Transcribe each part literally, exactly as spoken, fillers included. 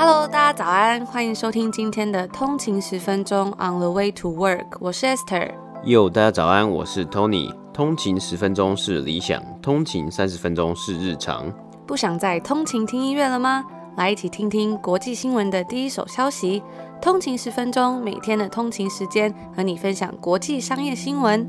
Hello， 大家早安，歡迎收聽今天的通勤十分鐘 On the way to work， 我是 Esther。 Yo， 大家早安，我是 Tony。通勤十分鐘是理想，通勤三十分鐘是日常。 不想再通勤聽音樂了嗎？來一起聽聽國際新聞的第一手消息。通勤十分鐘，每天的通勤時間和你分享國際商業新聞。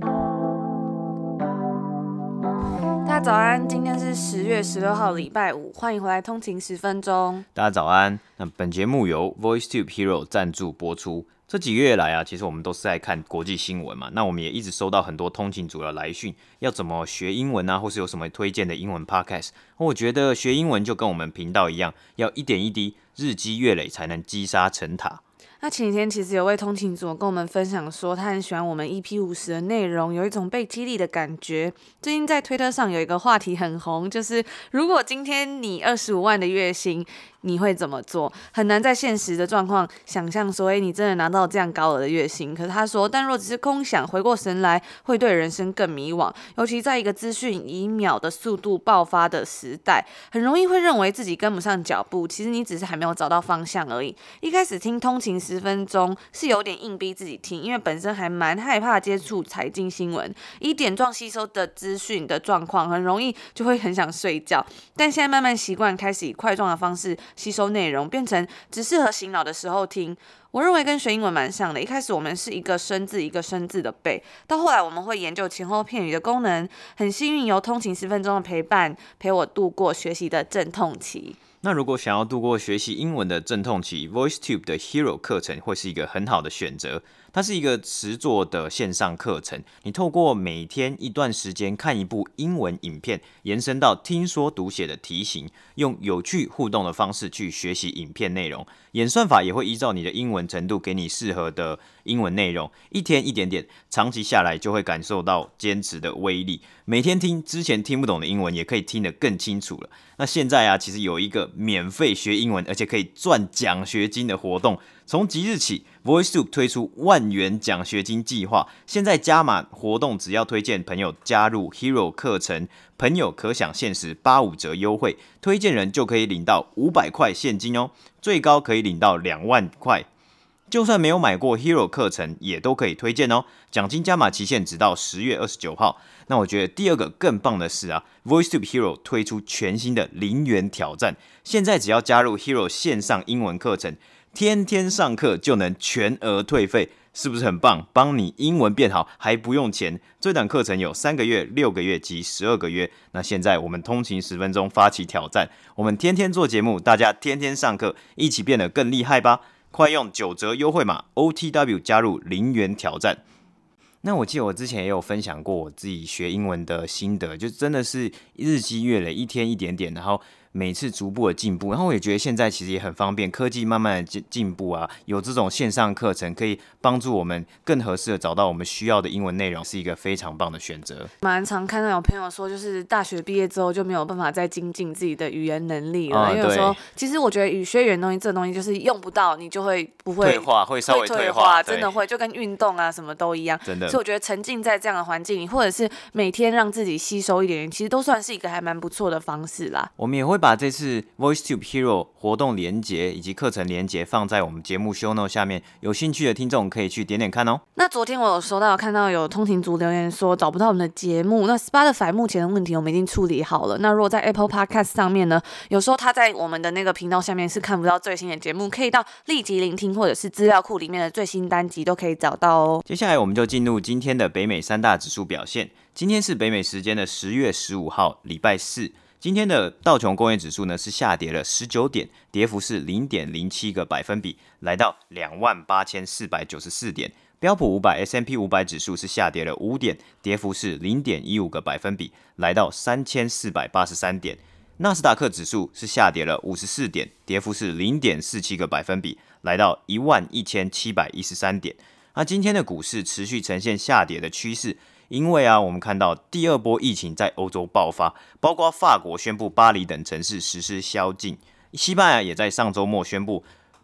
大家早安，今天是十月十六號，禮拜五，歡迎回來通勤十分鐘。 大家早安。那本節目由 VoiceTube Hero 贊助播出。這幾個月來啊，其實我們都是在看國際新聞嘛。那我們也一直收到很多通勤族的來訊，要怎麼學英文啊，或是有什麼推薦的英文 podcast。我覺得學英文就跟我們頻道一樣，要一點一滴，日積月累，才能積沙成塔。 那前幾天其實有位通勤族跟我們分享說，他很喜歡我們 E P 五十 的內容，有一種被激勵的感覺。最近在推特上有一個話題很紅，就是如果今天你二十五萬的月薪，你會怎麼做？很難在現實的狀況想象說，哎，你真的拿到這樣高額的月薪。可是他說，但若只是空想，回過神來，會對人生更迷惘。尤其在一個資訊以秒的速度爆發的時代，很容易會認為自己跟不上腳步。其實你只是還沒有找到方向而已。一開始聽通勤十分鐘是有點硬逼自己聽，因為本身還蠻害怕接觸財經新聞，以點狀吸收的資訊的狀況，很容易就會很想睡覺。但現在慢慢習慣，開始以塊狀的方式吸收內容，變成只適合醒腦的時候聽。我認為跟學英文蠻像的，一開始我們是一個生字一個生字的背，到後來我們會研究前後片語的功能。很幸運由通勤十分鐘的陪伴，陪我度過學習的陣痛期。 那如果想要度過學習英文的陣痛期， VoiceTube 的 Hero 課程會是一個很好的選擇。它是一個實作的線上課程，你透過每天一段時間看一部英文影片，延伸到聽說讀寫的題型，用有趣互動的方式去學習影片內容。演算法也會依照你的英文程度給你適合的英文內容，一天一點點，長期下來就會感受到堅持的威力。每天聽之前聽不懂的英文，也可以聽得更清楚了。那現在啊，其實有一個免費學英文，而且可以賺獎學金的活動。從即日起 ，VoiceTube 推出萬元獎學金計劃。現在加碼活動，只要推薦朋友加入 Hero 課程，朋友可享限時八五折優惠，推薦人就可以領到五百塊現金哦，最高可以領到兩萬塊。就算沒有買過 Hero 課程，也都可以推薦哦。獎金加碼期限直到十月二十九號。那我覺得第二個更棒的是啊 ，VoiceTube Hero 推出全新的零元挑戰，現在只要加入 Hero 線上英文課程，天天上課就能全額退費，是不是很棒？幫你英文變好還不用錢。這檔課程有三個月、六個月及十二個月。那現在我們通勤十分鐘發起挑戰，我們天天做節目，大家天天上課，一起變得更厲害吧！快用九折優惠碼 O T W 加入零元挑戰。那我記得我之前也有分享過我自己學英文的心得，就真的是日積月累，一天一點點，然後每次逐步的進步。然後我也覺得現在其實也很方便，科技慢慢的進步啊，有這種線上課程可以幫助我們更合適的找到我們需要的英文內容，是一個非常棒的選擇。 蠻常看到有朋友說，就是大學畢業之後就沒有辦法再精進自己的語言能力了，嗯、因為有時候其實我覺得語學語言東西，這個東西就是用不到，你就會不會退化，會稍微退化， 退化真的會，就跟運動啊什麼都一樣， 真的。 所以我覺得沉浸在這樣的環境裡，或者是每天讓自己吸收一點點，其實都算是一個還蠻不錯的方式啦。 我們也會把這次 VoiceTube Hero 活動連結以及課程連結放在我們節目 show note 下面，有興趣的聽眾可以去點點看哦。 那昨天我有收到看到有通勤族留言說找不到我們的節目，那 Spotify 目前的問題我們已經處理好了。那如果在 Apple Podcast 上面呢，有時候他在我們的那個頻道下面是看不到最新的節目，可以到立即聆聽或者是資料庫裡面的最新單集都可以找到哦。 接下來我們就進入今天的北美三大指數表現。今天是北美時間的十月十五號，禮拜四。今天的道瓊工業指數呢是下跌了十九點，跌幅是零點零七個百分比，來到兩萬八千四百九十四點。標普五百 S and P 五百指數是下跌了五點，跌幅是零點一五個百分比，來到三千四百八十三點。納斯達克指數是下跌了五十四點，跌幅是零點四七個百分比，來到一萬一千七百一十三點。那今天的股市持續呈現下跌的趨勢。因為啊，我們看到第二波疫情在歐洲爆發，包括法國宣布巴黎等城市實施宵禁，西班牙也在上周末宣布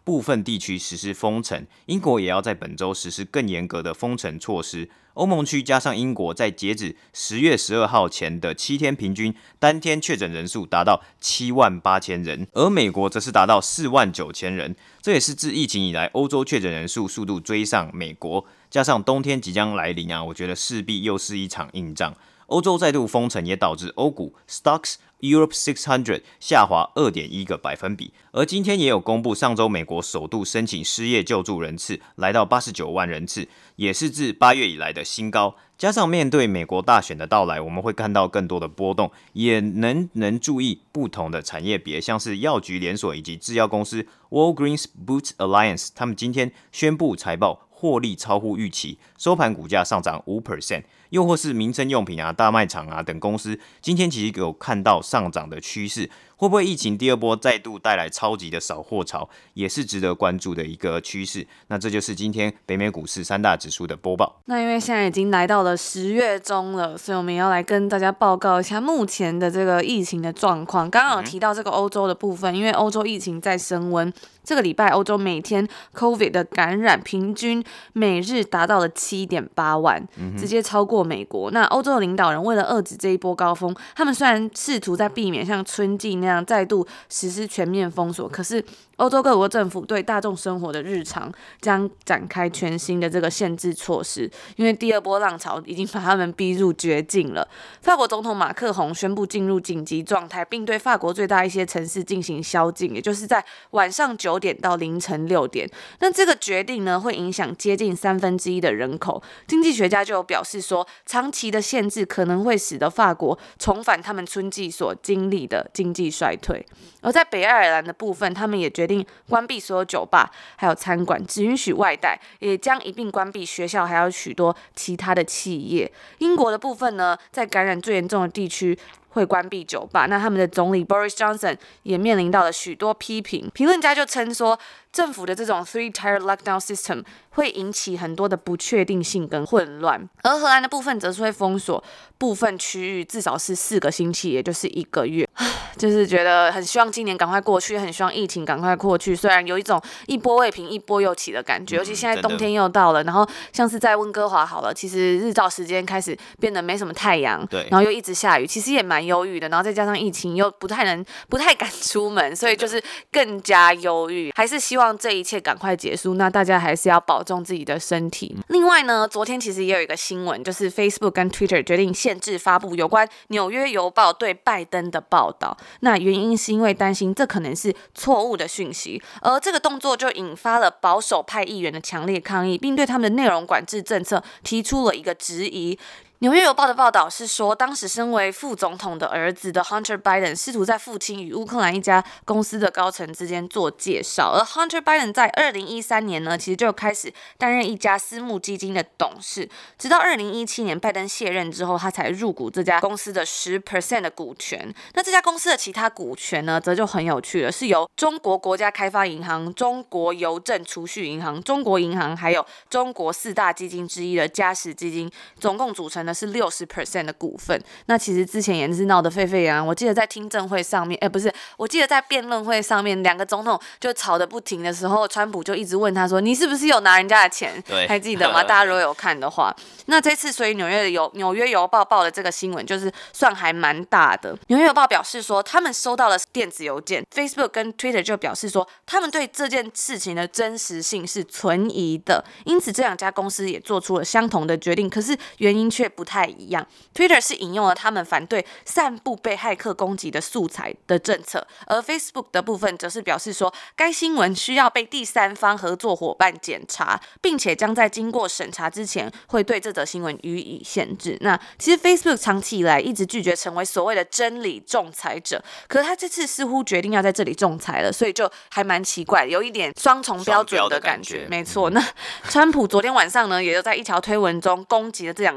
部分地區實施封城，英國也要在本周實施更嚴格的封城措施。歐盟區加上英國在截止十月十二號前的七天平均單天確診人數達到七萬八千人，而美國則是達到四萬九千人，這也是自疫情以來歐洲確診人數速度追上美國。加上冬天即將來臨啊，我覺得勢必又是一場硬仗。歐洲再度封城也導致歐股 Stocks Europe 六百下滑 二點一 個百分比，而今天也有公布上周美國首度申請失業救助人次來到八十九萬人次，也是自八月以來的新高。加上面對美國大選的到來，我們會看到更多的波動，也能能注意不同的產業別，像是藥局連鎖以及製藥公司 Walgreens Boots Alliance， 他們今天宣布財報獲利超乎預期，收盤股價上漲 百分之五。又或是民生用品啊、大賣場啊等公司，今天其實有看到上漲的趨勢。會不會疫情第二波再度帶來超級的掃貨潮，也是值得關注的一個趨勢。那這就是今天北美股市三大指數的播報。 那因為現在已經來到了十月中了，所以我們要來跟大家報告一下目前的這個疫情的狀況。剛剛有提到這個歐洲的部分，因為歐洲疫情在升溫，這個禮拜歐洲每天 COVID 的感染平均每日達到了 七點八萬，直接超過美國。那歐洲的領導人為了遏制這一波高峰，他們雖然試圖在避免像春季那樣再度實施全面封鎖，可是歐洲各國政府對大眾生活的日常將展開全新的這個限制措施，因為第二波浪潮已經把他們逼入絕境了。法國總統馬克宏宣布進入緊急狀態，並對法國最大一些城市進行宵禁，也就是在晚上九點到凌晨六點。那這個決定呢，會影響接近三分之一的人口。經濟學家就有表示說，長期的限制可能會使得法國重返他們春季所經歷的經濟衰退。而在北愛爾蘭的部分，他們也決定關閉所有酒吧還有餐館，只允許外帶，也將一併關閉學校還有許多其他的企業。英國的部分呢，在感染最嚴重的地區會關閉酒吧，那他們的總理 Boris Johnson 也面臨到了許多批評。評論家就稱說，政府的這種 three-tier lockdown system 會引起很多的不確定性跟混亂。而荷蘭的部分則是會封鎖部分區域，至少是四個星期，也就是一個月。就是覺得很希望今年趕快過去，很希望疫情趕快過去。雖然有一種一波未平一波又起的感覺，尤其現在冬天又到了，然後像是在溫哥華好了，其實日照時間開始變得沒什麼太陽，對，然後又一直下雨，其實也蠻憂鬱的。然後再加上疫情又不太能、不太敢出門，所以就是更加憂鬱。還是希望這一切趕快結束。那大家還是要保重自己的身體。另外呢，昨天其實也有一個新聞，就是 Facebook 跟 Twitter 決定限制發布有關紐約郵報對拜登的報道。那原因是因為擔心這可能是錯誤的訊息，而這個動作就引發了保守派議員的強烈抗議，並對他們的內容管制政策提出了一個質疑。紐約郵報的報道是說，當時身為副總統的兒子的 Hunter Biden 試圖在父親與烏克蘭一家公司的高層之間做介紹，而 Hunter Biden 在二零一三年呢，其實就開始擔任一家私募基金的董事，直到二零一七年拜登卸任之後，他才入股這家公司的 百分之十 的股權。那這家公司的其他股權呢，則就很有趣了，是由中國國家開發銀行、中國郵政儲蓄銀行、中國銀行，還有中國四大基金之一的嘉實基金，總共組成的是 百分之六十 的股份。那其實之前也是鬧得沸沸揚揚，我記得在聽證會上面，哎，不是，我記得在辯論會上面，兩個總統就吵得不停的時候，川普就一直問他說：“你是不是有拿人家的錢？”對，還記得嗎？大家如果有看的話，那這次所以紐約的郵紐約郵報報的這個新聞，就是算還蠻大的。紐約郵報表示說，他們收到了電子郵件 ，Facebook 跟 Twitter 就表示說，他們對這件事情的真實性是存疑的，因此這兩家公司也做出了相同的決定，可是原因卻不太一樣。Twitter 是引用了他們反對散布被駭客攻擊的素材的政策，而 Facebook 的部分則是表示說，該新聞需要被第三方合作夥伴檢查，並且將在經過審查之前會對這則新聞予以限制。那其實 Facebook 長期以來一直拒絕成為所謂的真理仲裁者，可是他這次似乎決定要在這裡仲裁了，所以就還蠻奇怪，有一點雙重標準的感覺。沒錯，那川普昨天晚上呢，也就在一條推文中攻擊了這兩間公司。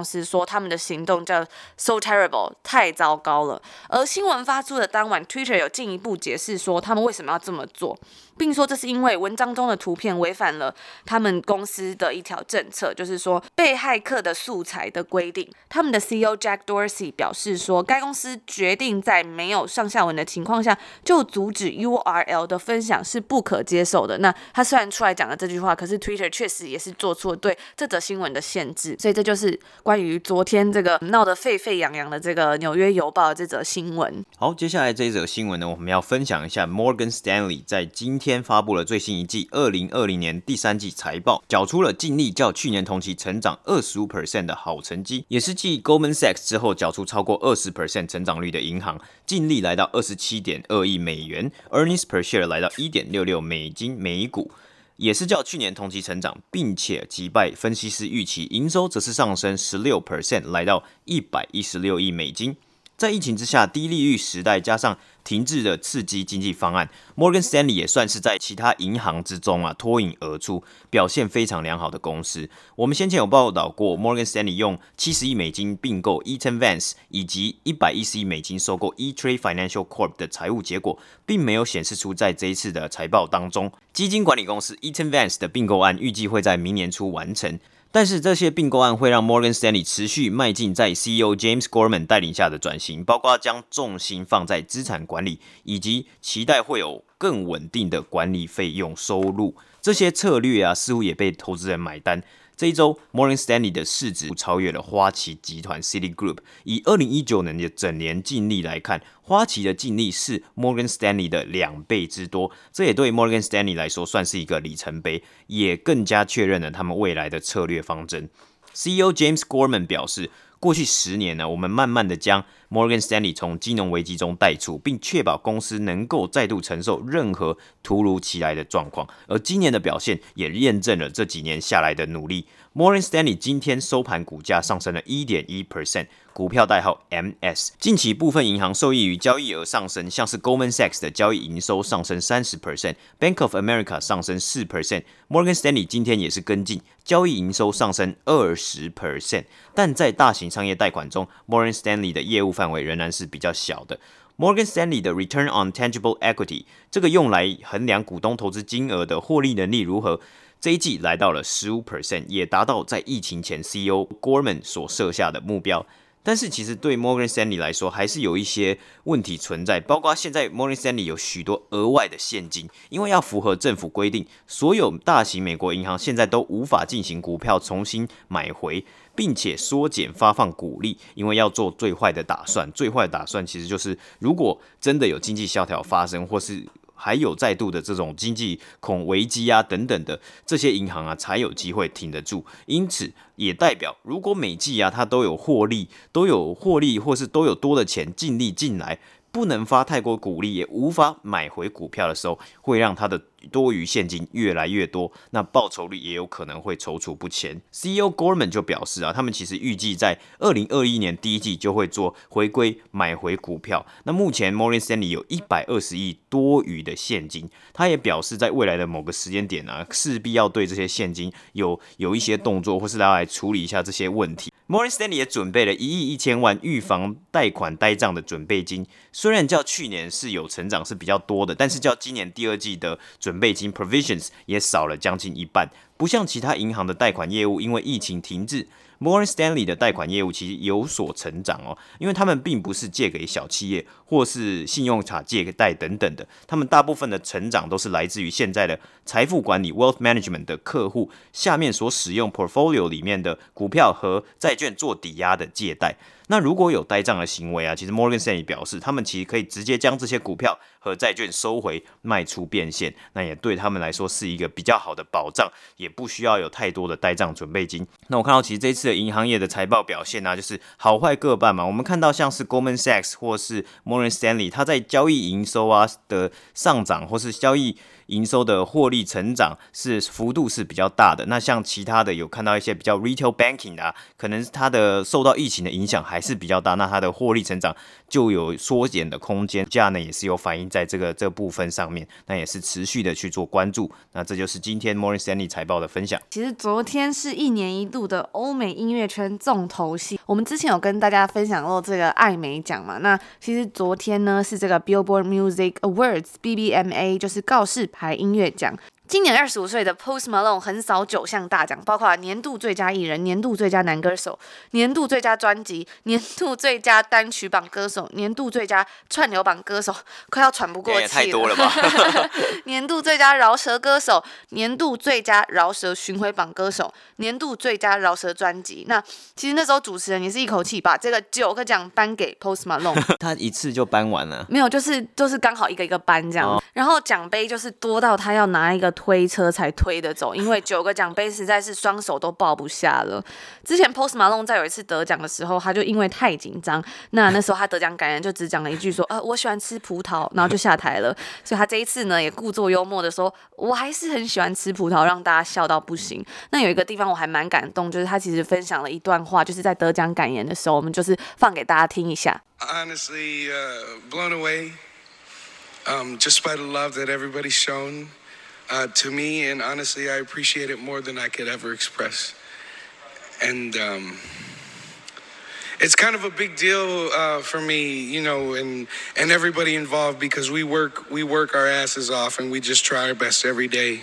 司說他們的行動叫 so terrible， 太糟糕了。而新聞發出的當晚 ，Twitter 有進一步解釋說他們為什麼要這麼做，並說這是因為文章中的圖片違反了他們公司的一條政策，就是說被駭客的素材的規定。他們的 C E O Jack Dorsey 表示說，該公司決定在沒有上下文的情況下就阻止 U R L 的分享是不可接受的。那他雖然出來講了這句話，可是 Twitter 確實也是做出了對這則新聞的限制。所以這就是關於昨天這個鬧得沸沸揚揚的這個紐約郵報的這則新聞。 好，接下來這一則新聞呢，我們要分享一下 Morgan Stanley 在今天發布了最新一季二零二零年第三季財報，繳出了淨利較去年同期成長 百分之二十五 的好成績，也是繼 Goldman Sachs 之後繳出超過 百分之二十 成長率的銀行，淨利來到 二十七點二億美元 ，earnings per share 來到 一點六六美金每股，也是較去年同期成長，並且擊敗分析師預期，營收則是上升 百分之十六， 來到一百一十六億美金。在疫情之下，低利率時代加上停滯的刺激經濟方案 ，Morgan Stanley 也算是在其他銀行之中啊脫穎而出，表現非常良好的公司。我們先前有報道過 ，Morgan Stanley 用七十億美金併購 Eaton Vance 以及一百一十億美金收購 E-Trade Financial Corp 的財務結果，並沒有顯示出在這一次的財報當中。基金管理公司 Eaton Vance 的併購案預計會在明年初完成。但是這些併購案會讓 Morgan Stanley 持續邁進在 C E O James Gorman 帶領下的轉型，包括將重心放在資產管理，以及期待會有更穩定的管理費用收入。這些策略啊，似乎也被投資人買單。這一周 ，Morgan Stanley 的市值超越了花旗集團 Citigroup。以二零一九年的整年淨利來看，花旗的淨利是 Morgan Stanley 的兩倍之多。這也對 Morgan Stanley 來說算是一個里程碑，也更加確認了他們未來的策略方針。C E O James Gorman 表示，過去十年呢，我們慢慢的將 Morgan Stanley 從金融危機中帶出，並確保公司能夠再度承受任何突如其來的狀況。而今年的表現也驗證了這幾年下來的努力。Morgan Stanley 今天收盤股價上升了 百分之一點一， 股票代號 M S。近期部分銀行受益於交易額上升，像是 Goldman Sachs 的交易營收上升 百分之三十， Bank of America 上升 百分之四， Morgan Stanley 今天也是跟進，交易營收上升 百分之二十。但在大型商業貸款中 ，Morgan Stanley 的業務範圍仍然是比較小的。Morgan Stanley 的 Return on Tangible Equity 這個用來衡量股東投資金額的獲利能力如何，這一季來到了 百分之十五， 也達到在疫情前 C E O Gorman 所設下的目標。但是其實對 Morgan Stanley 來說，還是有一些問題存在，包括現在 Morgan Stanley 有許多額外的現金，因為要符合政府規定，所有大型美國銀行現在都無法進行股票重新買回，並且縮減發放股利，因為要做最壞的打算。最壞的打算其實就是，如果真的有經濟蕭條發生，或是還有再度的這種經濟恐危機啊等等的，這些銀行啊才有機會挺得住。因此也代表，如果每季啊它都有獲利，都有獲利，或是都有多的錢淨利進來，不能發太多股利，也無法買回股票的時候，會讓它的多餘現金越來越多，那報酬率也有可能會躊躇不前。C E O Gorman 就表示啊，他們其實預計在二零二一年第一季就會做回歸買回股票。那目前 Morgan Stanley 有一百二十億多餘的現金，他也表示在未來的某個時間點啊，勢必要對這些現金有有一些動作，或是要來處理一下這些問題。Morgan Stanley 也準備了一億一千萬預防貸款呆賬的準備金，雖然較去年是有成長是比較多的，但是較今年第二季的準備金 provisions 也少了將近一半。不像其他銀行的貸款業務因為疫情停滯， Morgan Stanley 的貸款業務其實有所成長哦，因為他們並不是借給小企業或是信用卡借貸等等的，他們大部分的成長都是來自於現在的財富管理 wealth management 的客戶下面所使用 portfolio 裡面的股票和債券做抵押的借貸。那如果有呆賬的行為啊，其實 Morgan Stanley 表示，他們其實可以直接將這些股票和債券收回賣出變現，那也對他們來說是一個比較好的保障，也不需要有太多的呆賬準備金。那我看到其實這一次的銀行業的財報表現啊，就是好壞各半嘛。我們看到像是 Goldman Sachs 或是 Morgan Stanley，它在交易營收啊的上漲，或是交易營收的獲利成長是幅度是比較大的。那像其他的有看到一些比較 retail banking 的、啊，可能它的受到疫情的影響還是比較大，那它的獲利成長就有縮減的空間，價呢也是有反映在這個這個部分上面，那也是持續的去做關注。那這就是今天 Morgan Stanley 財報的分享。 其實昨天是一年一度的歐美音樂圈重頭戲，我們之前有跟大家分享過這個艾美獎嘛，那其實昨天呢是這個 Billboard Music Awards B B M A， 就是告示牌音樂獎。今年二十五歲的 Post Malone 橫掃九項大獎，包括年度最佳藝人、年度最佳男歌手、年度最佳專輯、年度最佳單曲榜歌手、年度最佳串流榜歌手，快要喘不過氣了，也太多了吧？ 年度最佳饒舌歌手、年度最佳饒舌巡迴榜歌手、年度最佳饒舌專輯。那其實那時候主持人也是一口氣把這個九個獎頒給 Post Malone， 他一次就頒完了？ 沒有，就是就是剛好一個一個頒這樣，哦、然後獎杯就是多到他要拿一個推車才推得走，因為九個獎杯實在是雙手都抱不下了。之前 Post Malone 在有一次得獎的時候，他就因為太緊張，那那時候他得獎感言就只講了一句說，呃，我喜歡吃葡萄，然後就下台了。所以他這一次呢，也故作幽默的說，我還是很喜歡吃葡萄，讓大家笑到不行。那有一個地方我還蠻感動，就是他其實分享了一段話，就是在得獎感言的時候，我們就是放給大家聽一下。 Honestly, uh, blown away, um, just by the love that everybody's shown. Uh, to me, and honestly, I appreciate it more than I could ever express. And um, it's kind of a big deal uh, for me, you know, and and everybody involved, because we work we work our asses off, and we just try our best every day.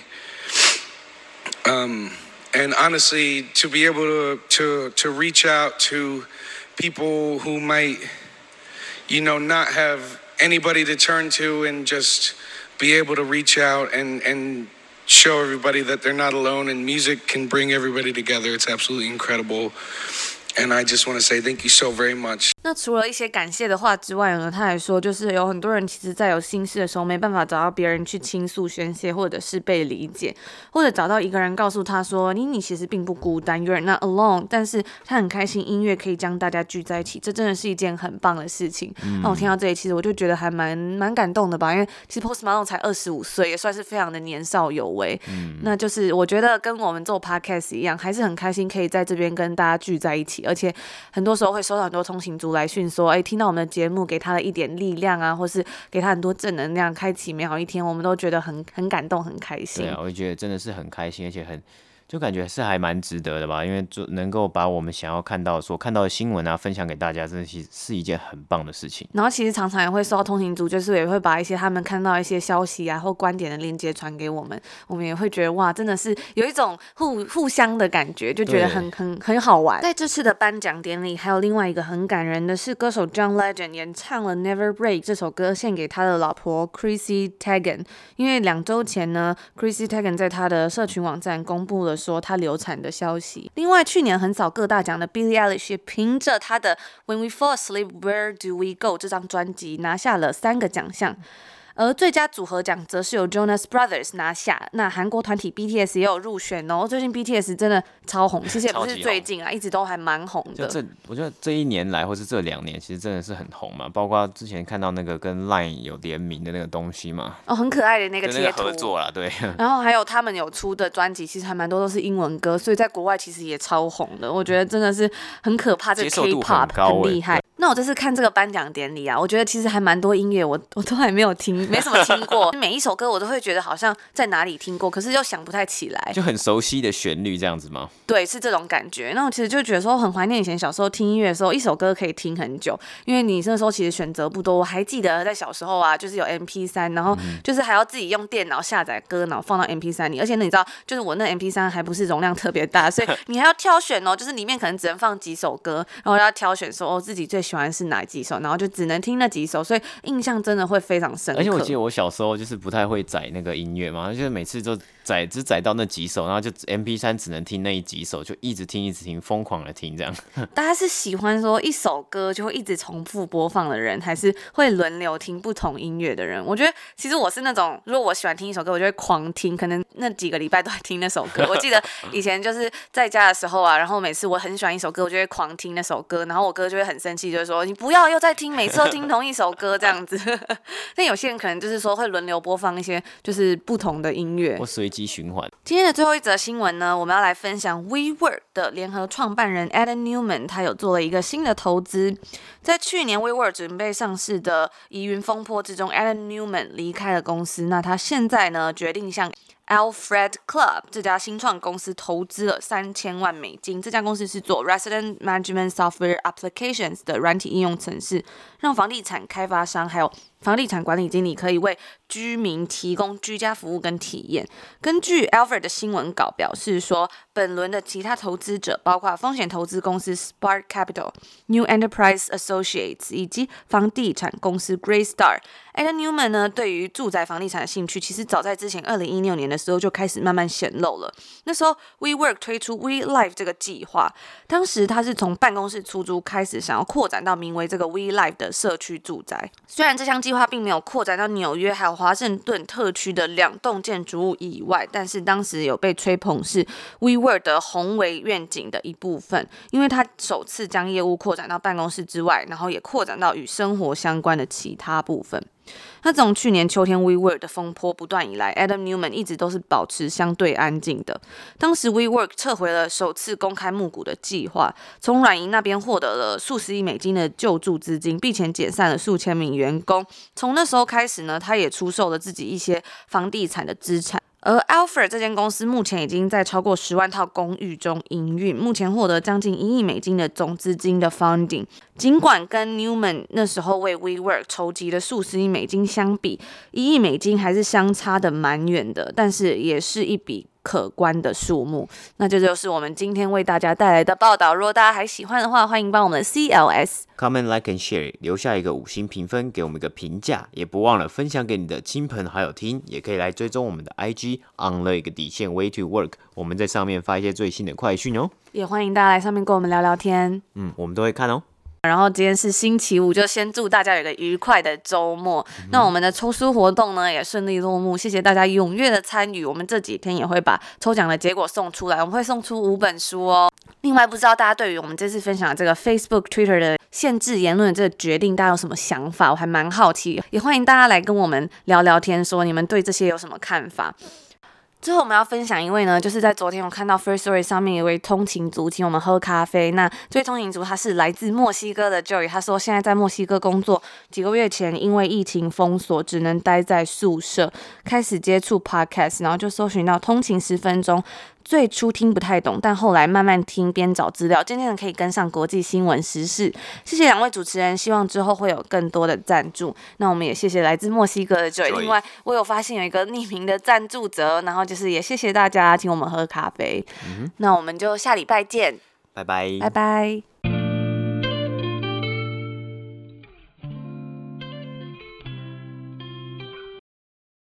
Um, and honestly, to be able to to to reach out to people who might, you know, not have anybody to turn to, and just be able to reach out and, and show everybody that they're not alone, and music can bring everybody together. It's absolutely incredible. And I just want to say thank you so very much. 那除了一些感謝的話之外呢，他還說就是有很多人其實在有心事的時候沒辦法找到別人去傾訴宣洩，或者是被理解，或者找到一個人告訴他說你你其實並不孤單 You're not alone， 但是他很開心音樂可以將大家聚在一起，這真的是一件很棒的事情。嗯、那我聽到這裡其實我就覺得還蠻蠻感動的吧，因為其實 Post Malone 才二十五歲，也算是非常的年少有為。嗯、那就是我覺得跟我們做 podcast 一樣，還是很開心可以在這邊跟大家聚在一起，而且很多時候會收到很多通勤族來訊說，哎，聽到我們的節目給他了一點力量啊，或是給他很多正能量，開啟美好一天，我們都覺得很很感動，很開心。 對啊，我覺得真的是很開心，而且很就感覺是還蠻值得的吧，因為就能夠把我們想要看到的、所看到的新聞啊分享給大家，真的是是一件很棒的事情。 然後其實常常也會收到通勤族，就是也會把一些他們看到一些消息啊或觀點的鏈接傳給我們，我們也會覺得哇，真的是有一種互互相的感覺，就覺得很很很好玩。在這次的頒獎典禮，還有另外一個很感人的是，歌手 John Legend 演唱了 Never Break 這首歌獻給他的老婆 Chrissy Teigen， 因為兩週前呢 Chrissy Teigen 在他的社群網站公布了說他流產的消息。另外，去年橫掃各大獎的 Billie Eilish 也憑着他的 When We Fall Asleep Where Do We Go 這張專輯拿下了三個獎項。而最佳組合獎則是由 Jonas Brothers 拿下，那韓國團體 B T S 也有入選哦。最近 B T S 真的超紅，其實也不是最近啊，一直都還蠻紅的。 就這，我覺得這一年來或是這兩年，其實真的是很紅嘛。包括之前看到那個跟 Line 有聯名的那個東西嘛， 哦，很可愛的那個貼圖， 那個合作啦，對。 然後還有他們有出的專輯，其實還蠻多都是英文歌，所以在國外其實也超紅的。我覺得真的是很可怕，這個 K-pop 很厲害。那我這次看這個頒獎典禮啊，我覺得其實還蠻多音樂我我都還沒有聽，沒什麼聽過。每一首歌我都會覺得好像在哪裡聽過，可是又想不太起來。 就很熟悉的旋律這樣子嗎？ 對，是這種感覺。那我其實就覺得說很懷念以前小時候聽音樂的時候，一首歌可以聽很久，因為你那時候其實選擇不多。我還記得在小時候啊，就是有 M P 三，然後就是還要自己用電腦下載歌，然後放到 M P 三裡。而且你知道，就是我那 M P 三還不是容量特別大，所以你還要挑選哦，就是裡面可能只能放幾首歌，然後要挑選說哦自己最喜歡是哪幾首，然後就只能聽那幾首，所以印象真的會非常深刻。 而且我記得我小時候就是不太會載那個音樂嘛，就是每次就載只載到那幾首，然後就 M P 三 只能聽那一幾首，就一直聽一直聽，瘋狂的聽這樣。 大家是喜歡說一首歌就會一直重複播放的人，還是會輪流聽不同音樂的人？我覺得其實我是那種，如果我喜歡聽一首歌，我就會狂聽，可能那幾個禮拜都在聽那首歌。我記得以前就是在家的時候啊，然後每次我很喜歡一首歌，我就會狂聽那首歌，然後我哥就會很生氣，就會說你不要又在聽，每次都聽同一首歌這樣子。但有些人可能就是說會輪流播放一些就是不同的音樂， 或隨機循環。 今天的最後一則新聞呢，我們要來分享 WeWork 的聯合創辦人 Adam Neumann， 他有做了一個新的投資。在去年 WeWork 準備上市的疑雲風波之中 ，Adam Neumann 離開了公司。那他現在呢，決定向Alfred Club 這家新創公司投資了三千萬美金。這家公司是做 Resident Management Software Applications 的軟體應用程式，讓房地產開發商還有房地產管理經理可以為居民提供居家服務跟體驗。根據 Alfred 的新聞稿表示說，本輪的其他投資者包括風險投資公司 Spark Capital、New Enterprise Associates 以及房地產公司 Greystar。Adam Neumann 呢，對於住宅房地產的興趣，其實早在之前二零一六年的時候就開始慢慢顯露了。那時候 WeWork 推出 WeLive 這個計劃，當時他是從辦公室出租開始，想要擴展到名為這個 WeLive 的社區住宅。雖然這項計劃並沒有擴展到紐約還有華盛頓特區的兩棟建築物以外，但是當時有被吹捧是 WeWork 的宏偉願景的一部分，因為他首次將業務擴展到辦公室之外，然後也擴展到與生活相關的其他部分。那從去年秋天 WeWork 的風波不斷以來， Adam Neumann 一直都是保持相對安靜的。當時 WeWork 撤回了首次公開募股的計劃，從軟銀那邊獲得了數十億美金的救助資金，並且解散了數千名員工。從那時候開始呢，他也出售了自己一些房地產的資產。而 Alfred 這間公司目前已經在超過十萬套公寓中營運，目前獲得將近一億美金的總資金的 funding。儘管跟 Neumann 那時候為 WeWork 籌集的數十億美金相比，一億美金還是相差的蠻遠的，但是也是一筆可觀的數目。那這就是我們今天為大家帶來的報道。如果大家還喜歡的話，歡迎幫我們的 C L S Comment, Like and Share 留下一個五星評分，給我們一個評價，也不忘了分享給你的親朋好友聽。也可以來追蹤我們的 I G on the 一個底線 Way to Work， 我們在上面發一些最新的快訊哦。 也歡迎大家來上面跟我們聊聊天， 嗯，我們都會看哦。 然後今天是星期五，就先祝大家有一個愉快的周末。嗯、那我們的抽書活動呢也順利落幕，謝謝大家踴躍的參與。我們這幾天也會把抽獎的結果送出來，我們會送出五本書哦。另外，不知道大家對於我們這次分享的這個 Facebook、Twitter 的限制言論的這個決定，大家有什麼想法？我還蠻好奇，也歡迎大家來跟我們聊聊天，說你們對這些有什麼看法。最後我們要分享一位呢，就是在昨天我看到 Firstory 上面有一位通勤族請我們喝咖啡。那這位通勤族他是來自墨西哥的 Joey， 他說現在在墨西哥工作，幾個月前因為疫情封鎖，只能待在宿舍，開始接觸 Podcast， 然後就搜尋到通勤十分鐘。最初聽不太懂，但後來慢慢聽，邊找資料，漸漸的可以跟上國際新聞時事。謝謝兩位主持人，希望之後會有更多的贊助。那我們也謝謝來自墨西哥的 Joy。另外，我有發現有一個匿名的贊助者，然後就是也謝謝大家請我們喝咖啡。嗯、那我們就下禮拜見， 拜拜， 拜拜。